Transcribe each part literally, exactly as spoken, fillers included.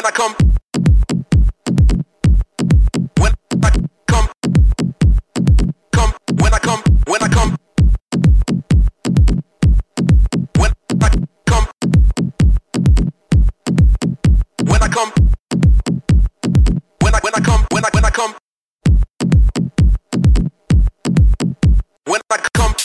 when I come, when I come, come, when I come, when I come, when I come, when I come, when I when I come, when I when I come, when I come.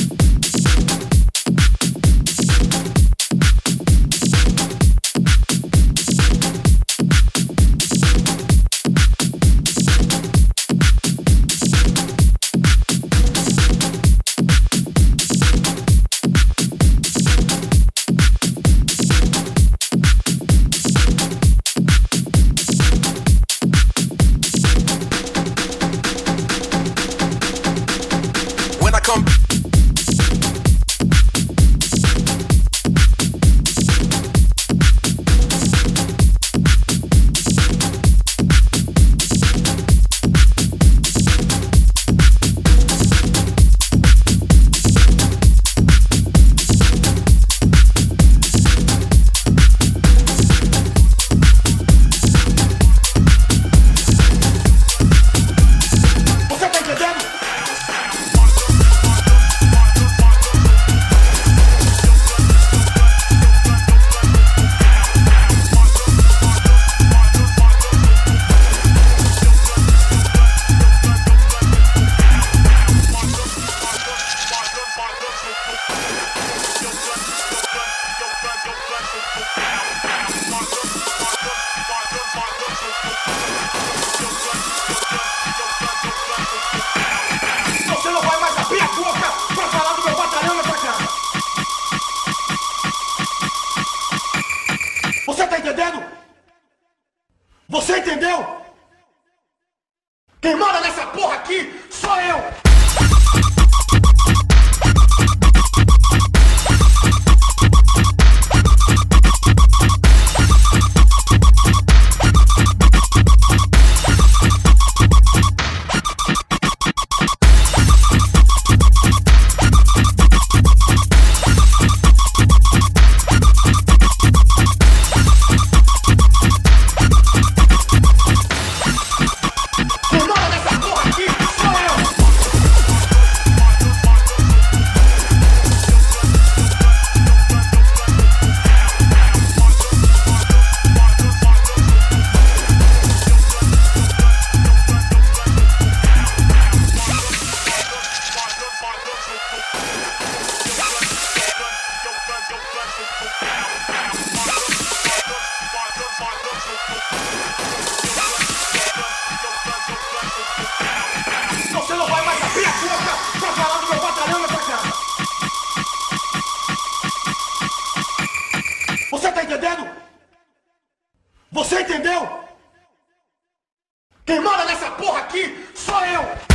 Você não vai mais abrir a boca pra falar do meu batalhão nessa casa. Você tá entendendo? Você entendeu? Quem manda nessa porra aqui sou eu! Você não vai mais abrir a boca pra falar do meu batalhão nessa casa. Você tá entendendo? Você entendeu? Quem manda nessa porra aqui sou eu!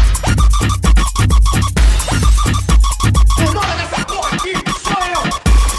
Quem manda nessa porra aqui sou eu!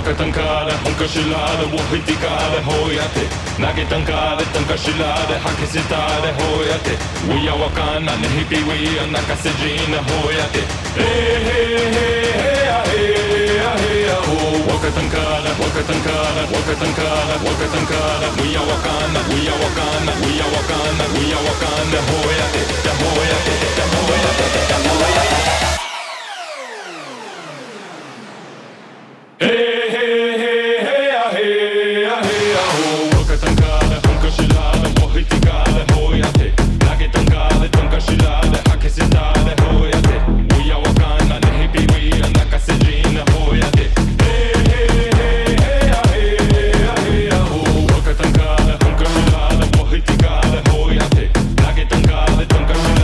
Waka tankare, honka shilare, wohitikare, hoyate. Nage tankare, tanka shilare, hakisitare, hoyate. We are wakana, nehipi we are nakasejina, hoyate. Hey, hey, hey, hey, hey, hey, oh. Waka tankare, waka tankare, waka tankare, waka tankare. We are wakana, we are wakana, we are wakana, we are wakana, hoyate, da hoyate, da hoyate, da hoyate. Hey, hey, hey, hey, ah, hey, ah, hey, ah, oh. Waka tankare, honka shilare, wohitikare, hoyate. Nage tankare, tanka shilare, hakisitare, hoyate. Uya wakana, nehipi we, nakasejina, hoyate. Hey, hey, hey, hey, ah, hey, ah, hey, ah, oh. Waka tankare, honka shilare, wohitikare, hoyate. Nage tankare, tanka shilare.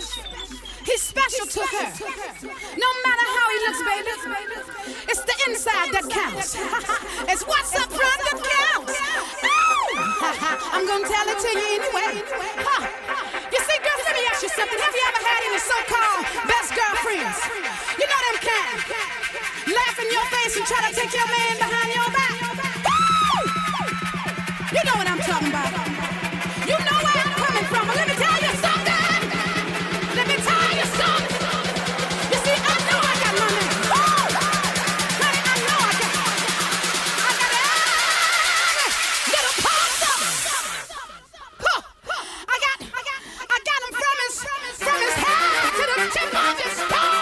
He's special to her. No matter how he looks, baby, it's the inside that counts. It's what's up front that counts. I'm gonna tell it to you anyway. Huh. You see, girls, let me ask you something. Have you ever had any so-called best girlfriends? You know them kind. Laugh in your face and try to take your man behind your back. Woo! You know what I'm talking about. You know where I'm coming from. But let me tell you something. Let me tell you something. You see, I know I got my man. Woo! Honey, I know I got I got every little part of it. Huh. I got, I got, I got him from his, from his head to the tip of his toe.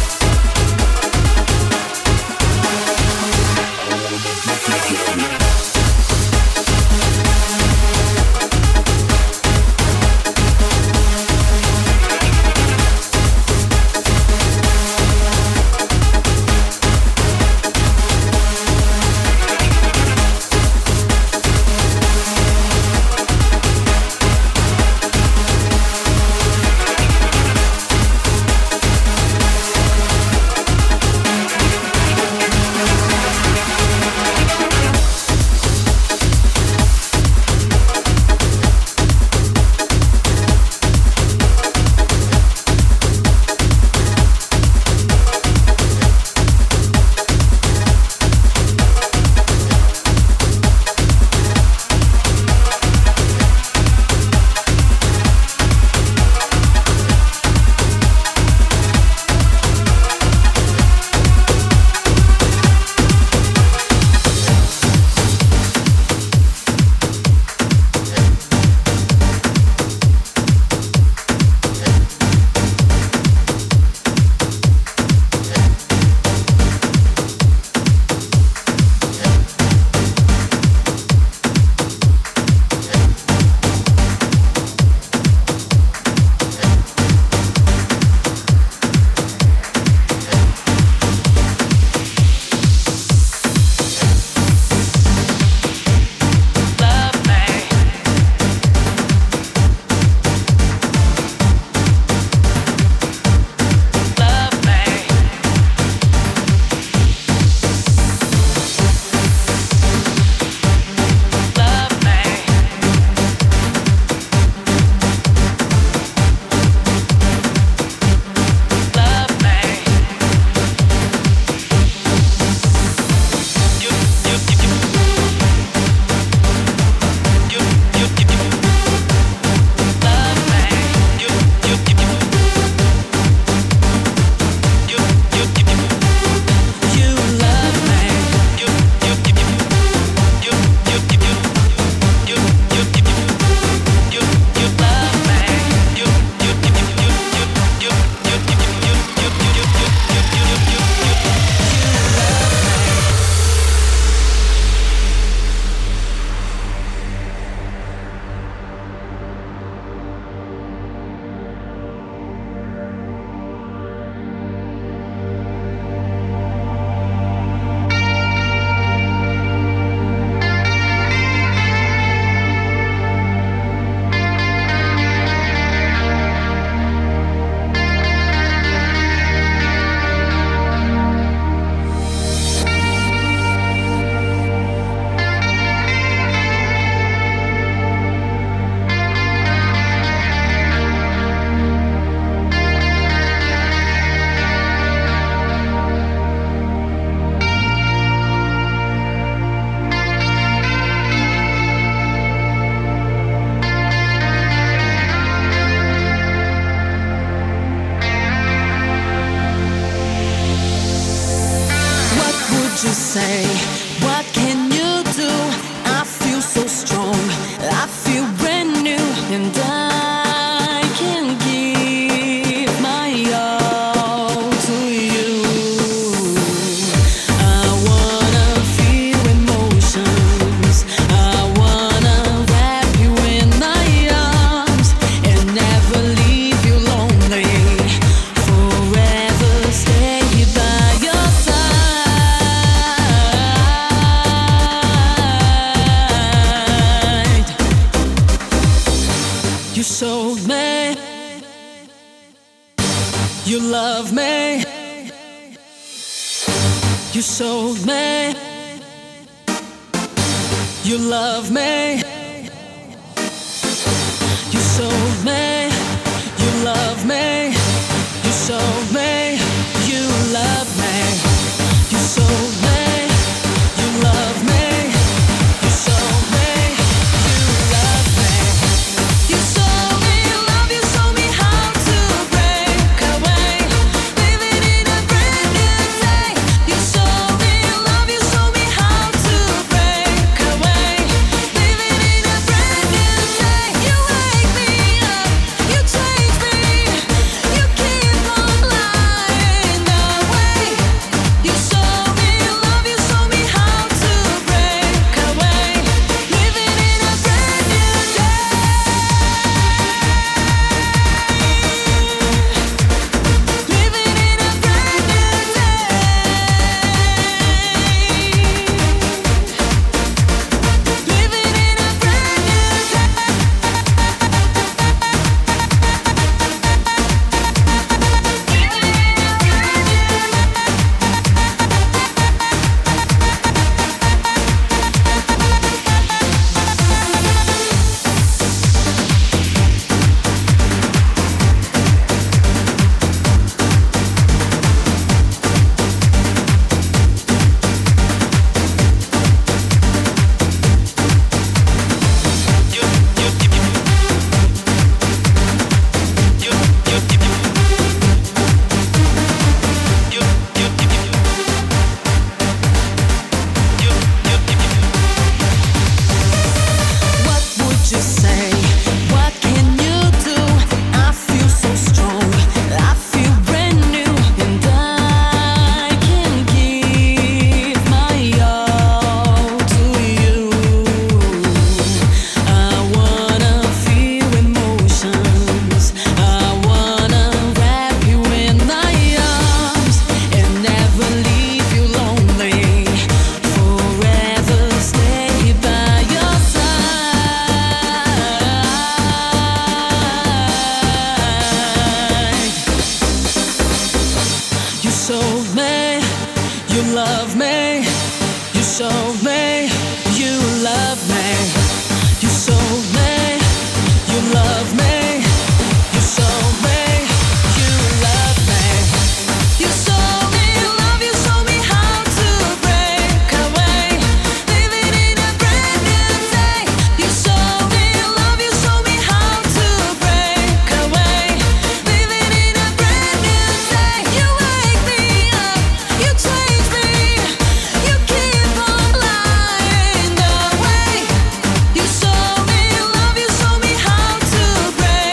Together. say? What can you do? I feel so strong, I feel brand new, and I can give my all to you. I wanna feel emotions, I wanna wrap you in my arms and never leave you lonely, forever stay by your side. You showed me you love me. You showed me you love me. You showed me you love me. You showed me you love me. You showed me you love me. You showed me you love me. You showed me love. You showed me how to break away, living in a brand new day. You showed me love. You showed me how to break away, living in a brand new day. You wake me up, you change me, you keep on lying away. You showed me love. You showed me how to break away, living in a brand new day. Living in a brand new day. Living in a brand new What would you say? What can you do? I feel so strong, I feel brand new, and I can give my all to you. I wanna feel emotions, I wanna wrap you in my arms and never leave you lonely, forever stay by your side. You showed me you love me. You showed me you love me. You showed me you love me. You showed me you love me. You showed me love. You showed me how to break away, living in a brand new day. You showed me love. You showed me how to break away, living in a brand new day. You wake me up, you change me, you keep on lying away. You showed me love. You showed me how to break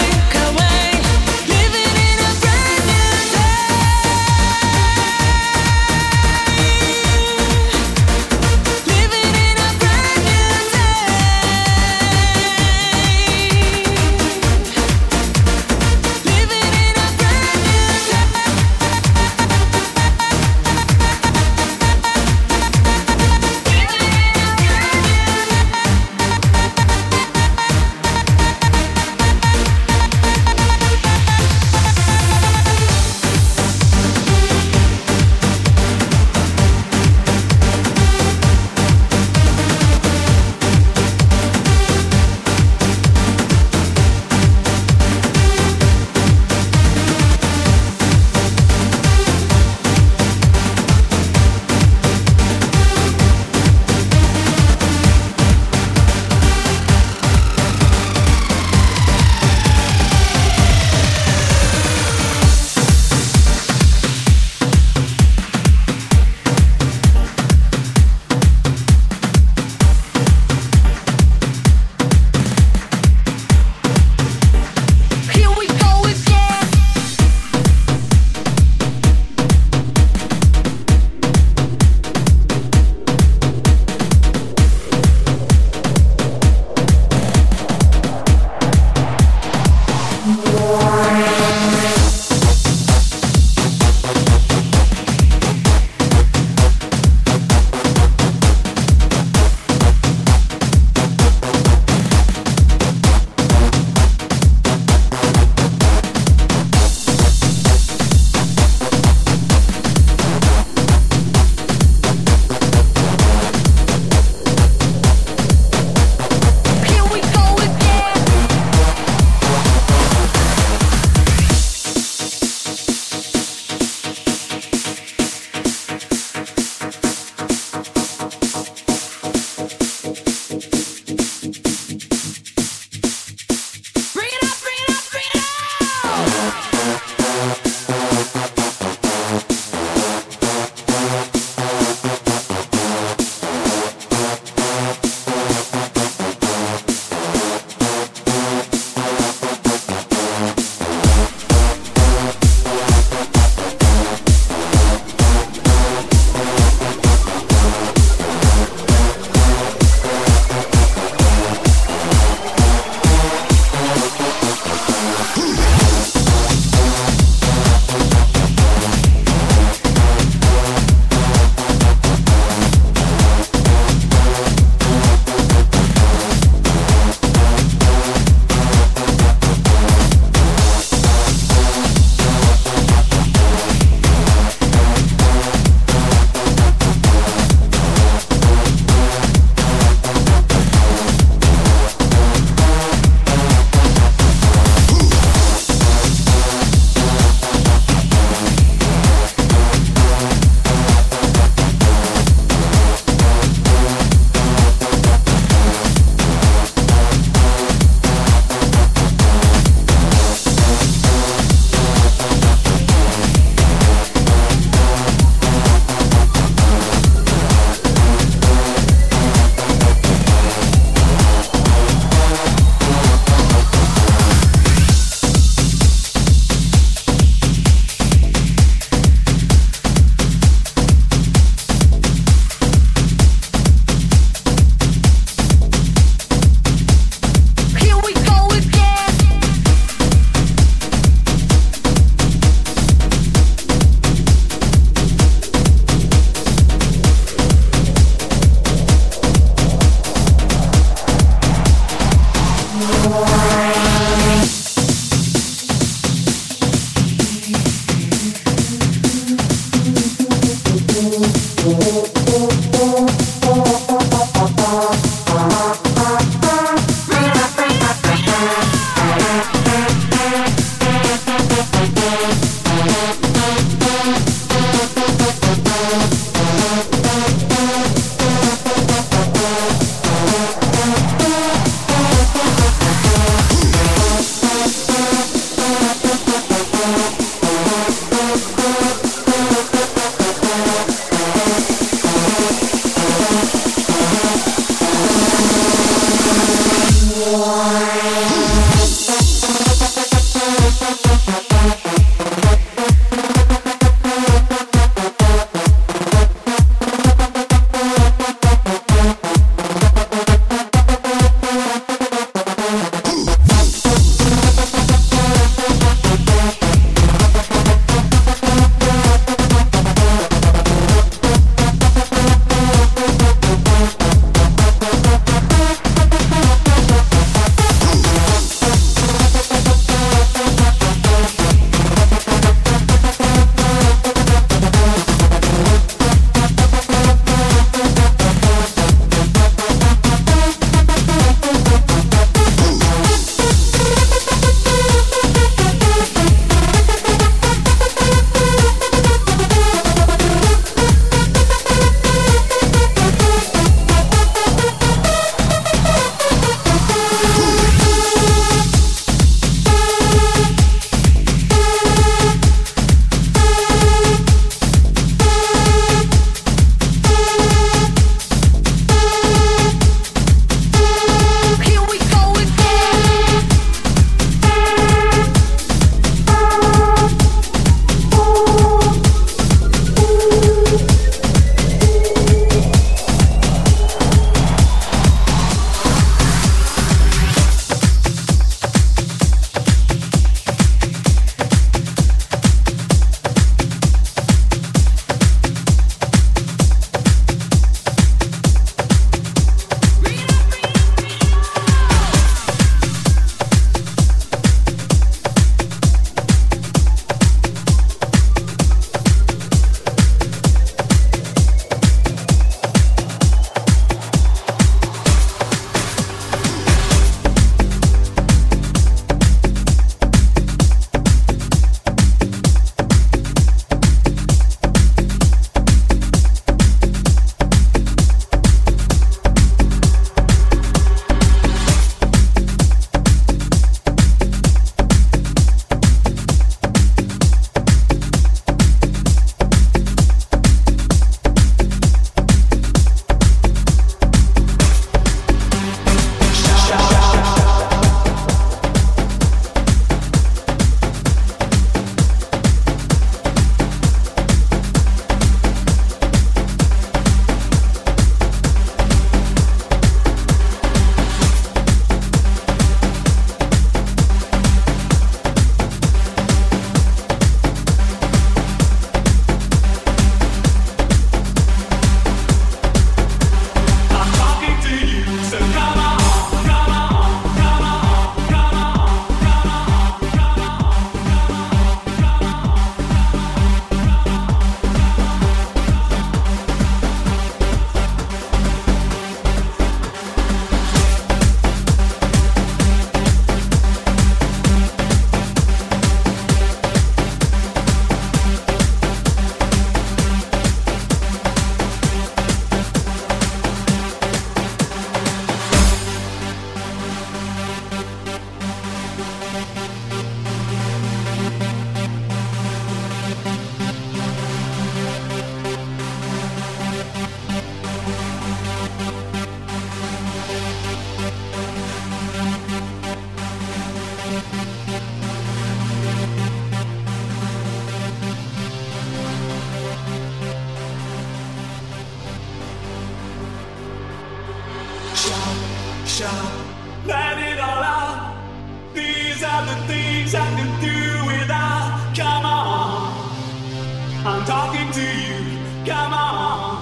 Shout, shout, let it all out. These are the things I can do without. Come on, I'm talking to you. Come on.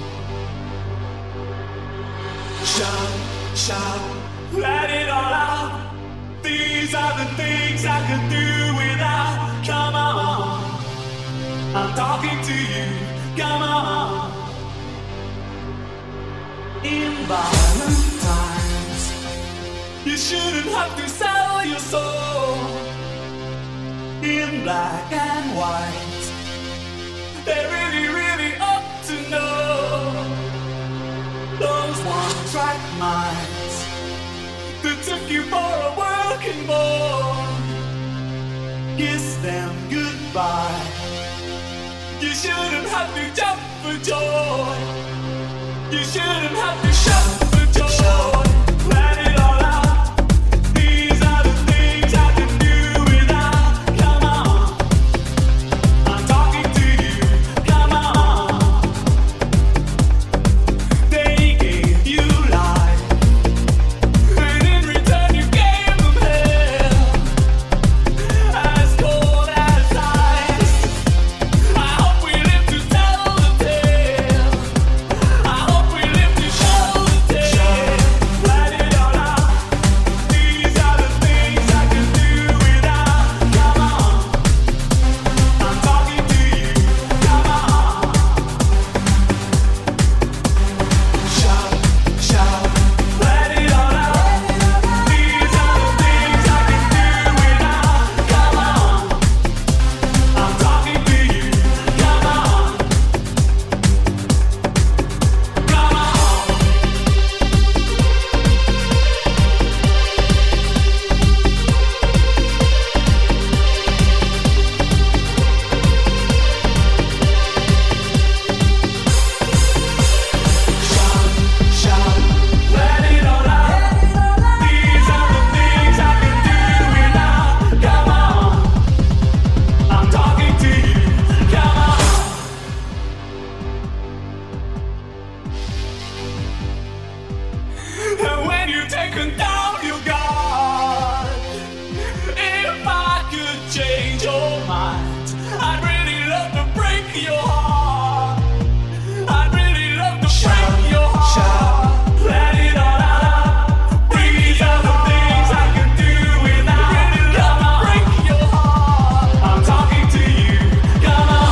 Shout, shout, let it all out. These are the things I can do without. Come on, I'm talking to you. Come on. In violent times, you shouldn't have to sell your soul. In black and white, they really, really ought to know. Those one-track minds that took you for a working boy, kiss them goodbye. You shouldn't have to jump for joy. You shouldn't have to shout for joy. Let it all out. These are the things I can do without. Come on, I'm talking to you. Come on. They gave you life, and in return you gave them hell. As cold as ice. I hope we live to tell the tale. I hope we live to show the tale. Let it all out. These are the things I can do without. Come on, I'm talking to you. Come on. Shout, shout, let it all out. These are the things I can do without. Come on, I'm talking to you. Come on. Come on. Shout, shout, let it all out. These are the things I can do without. Come on, I'm talking to you. Come on. And when you've taken down your guard, if I could change your mind, I'd really love to break your heart. I'd really love to break your heart. Let it all out. These are the things I can do without. Really love to break your heart. I'm talking to you. Come on.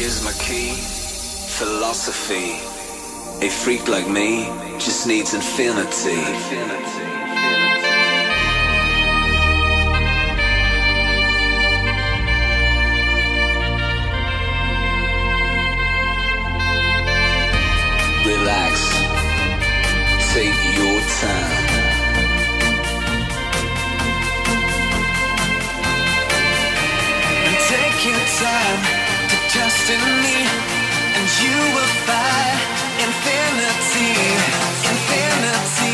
Here's my key, philosophy. A freak like me just needs infinity. Relax, take your time. And take your time to trust in me, and you will find infinity, infinity.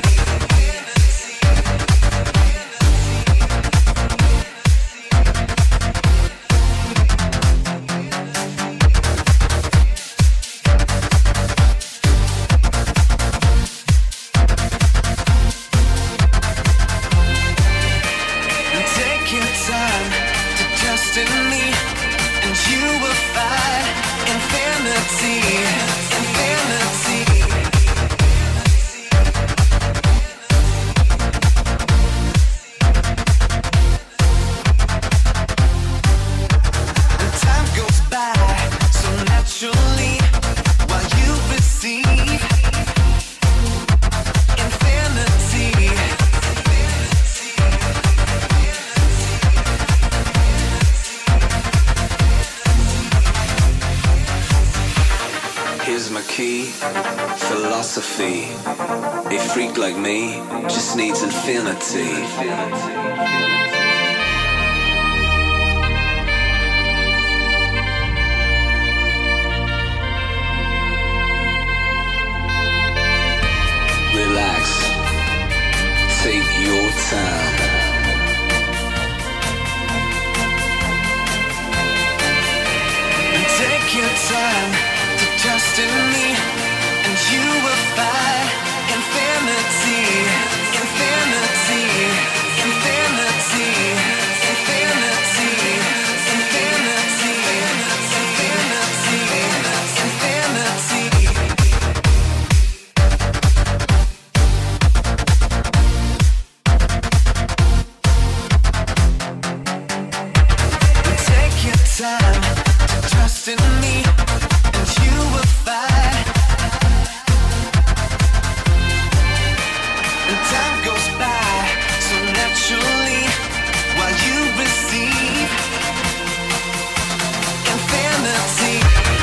Philosophy. A freak like me just needs infinity. Relax, take your time. And take your time to trust in me, and you will find infinity, infinity, infinity, infinity, infinity, infinity, infinity. Take your time to trust in me, and you will find. And time goes by so naturally while you receive infinity.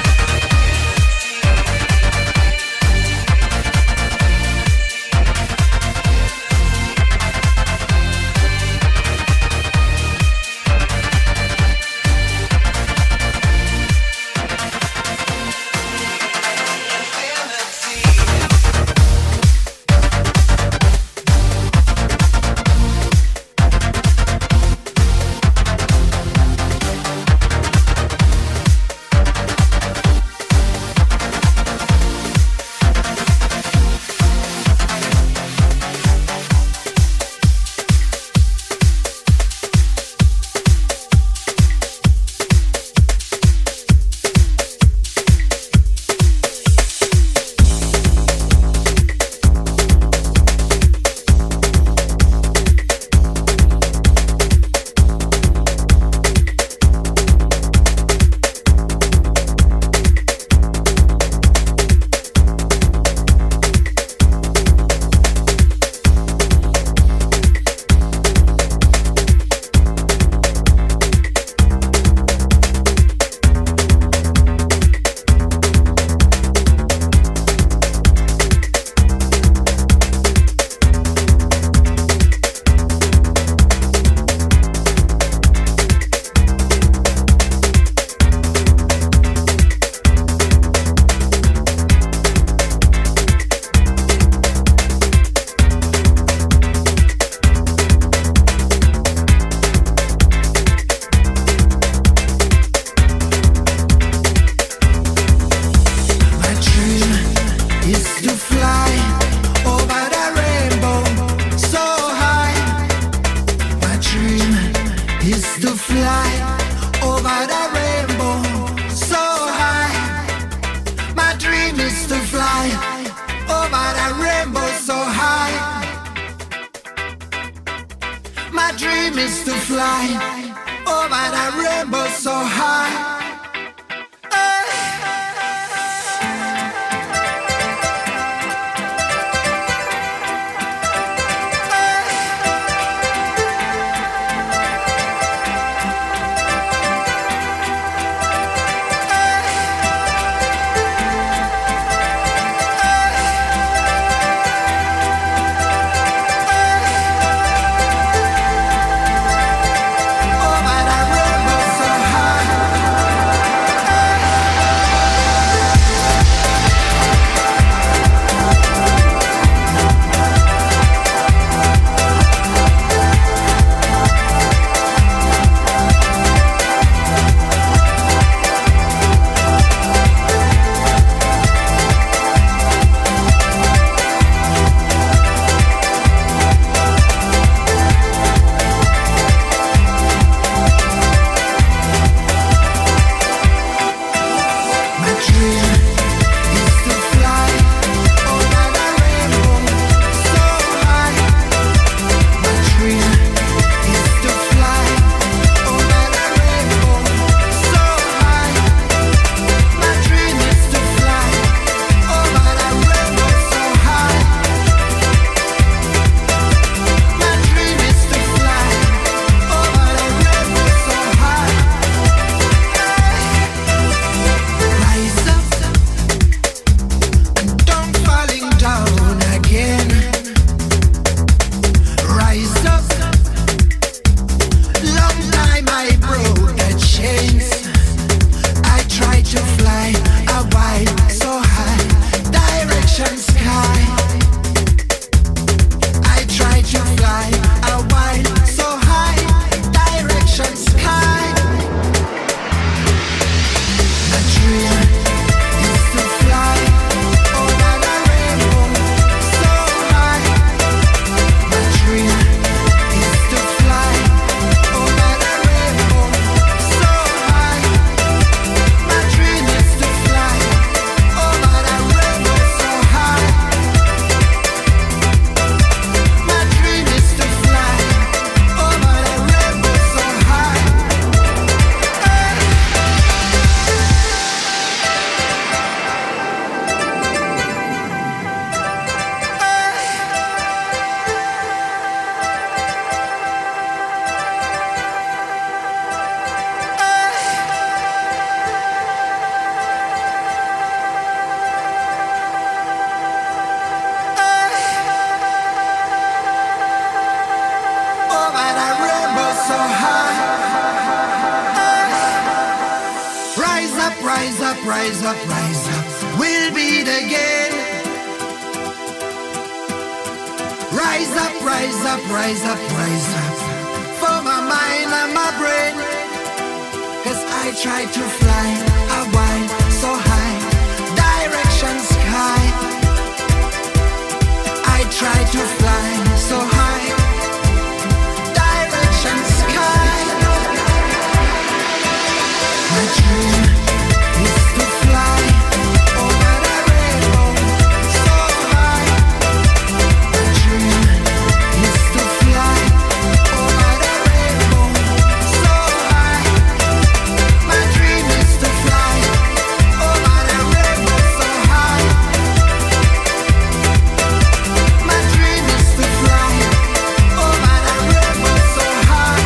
dream is to fly over that rainbow so high. Oh, up, rise up, rise up. We'll beat again. Rise up, rise up, rise up, rise up. For my mind and my brain. Cause I try to fly a while so high. Direction sky. I try to fly so high. Direction sky. My dream is to fly over the rainbow so high. My dream is to fly over the rainbow so high. My dream is to fly over the rainbow so high. My dream is to fly over the rainbow so high.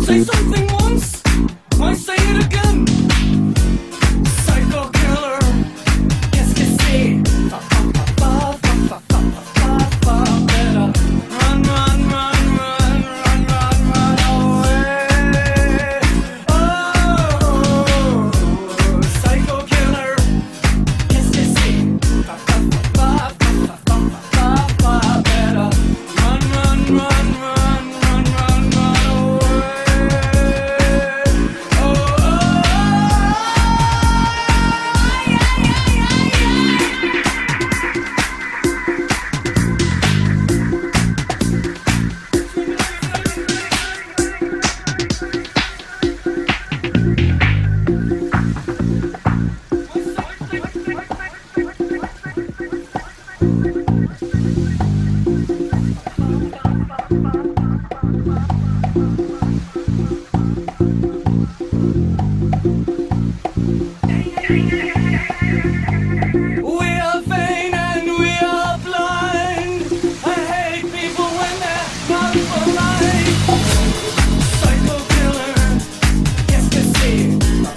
Say something once, might say it again. Psycho killer, qu'est-ce que c'est? Fa fa fa fa fa fa fa fa fa. Better run, run, run, run, run, run, run away. Oh, psycho killer, qu'est-ce que c'est? Fa fa fa fa fa fa fa fa. Better run, run, run, run, run, run, run away. We are vain and we are blind. I hate people when they're not polite. Psycho killer, qu'est-ce que c'est?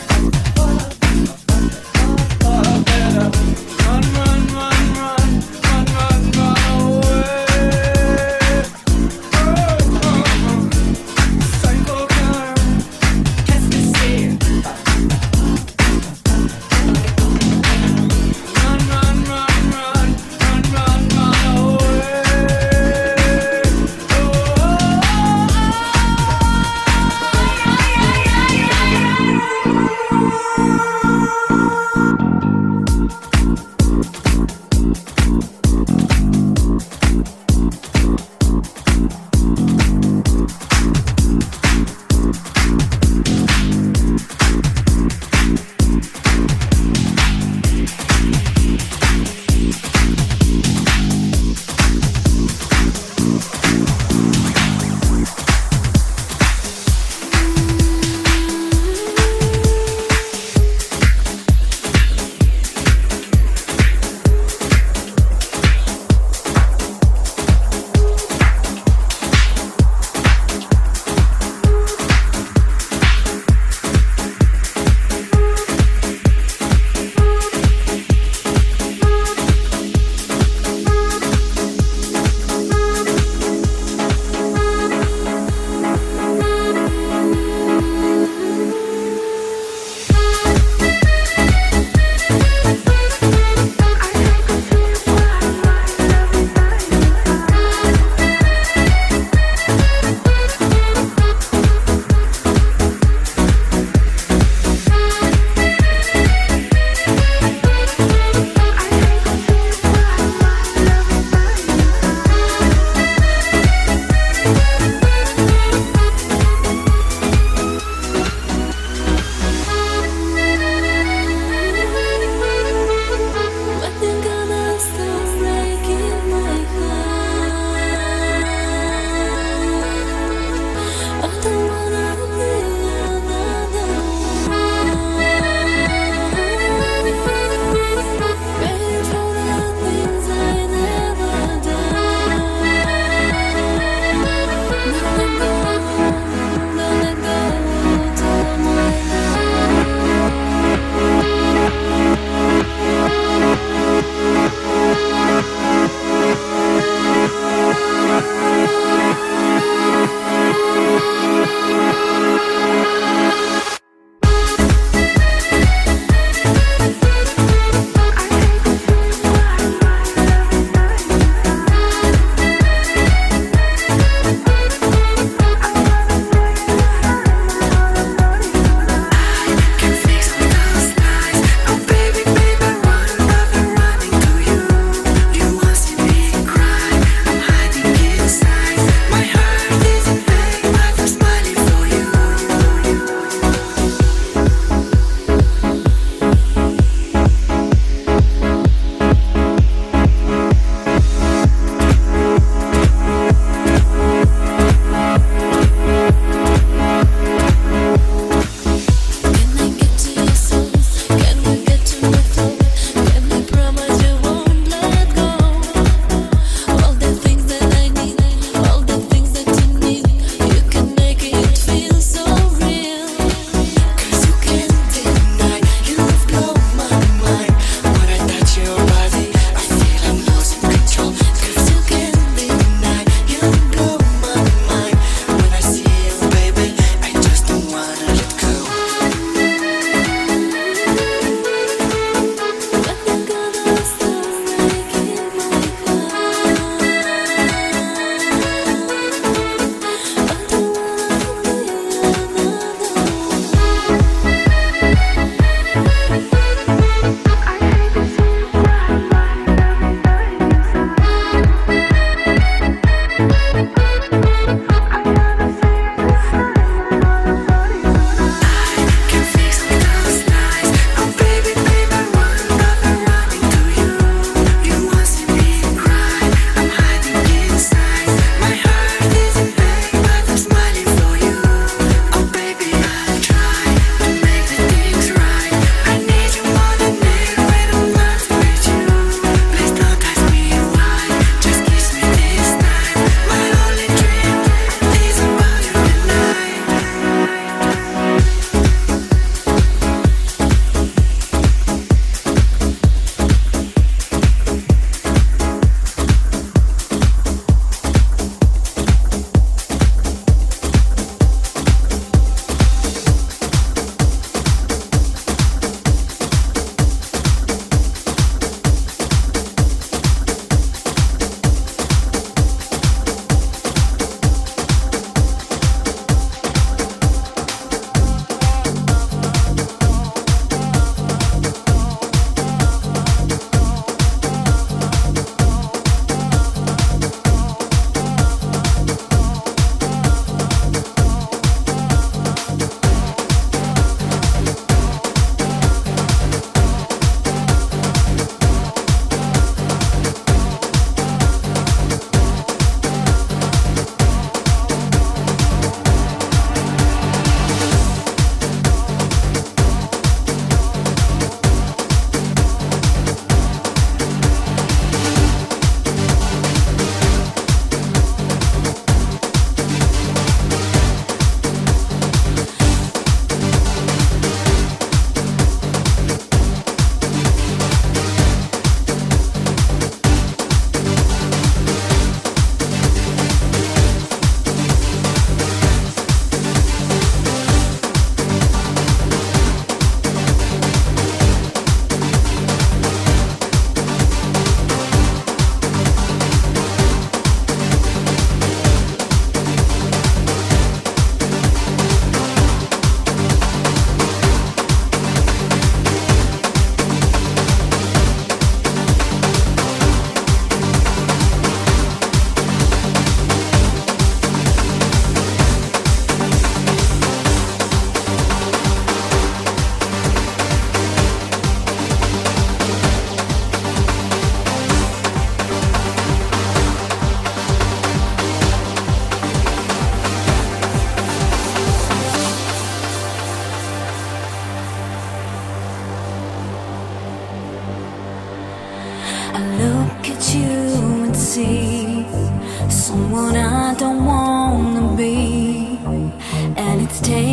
Better run, run, run, run, run, run, run away. Psycho killer, qu'est-ce que c'est? Run, run, run, run, run, run, run away.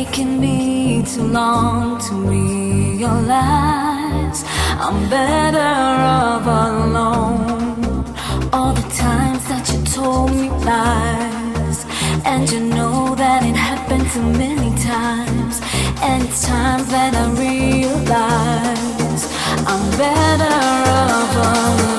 taken me too long to realize I'm better off alone. All the times that you told me lies, and you know that it happened too many times. And it's times that I realize I'm better off alone.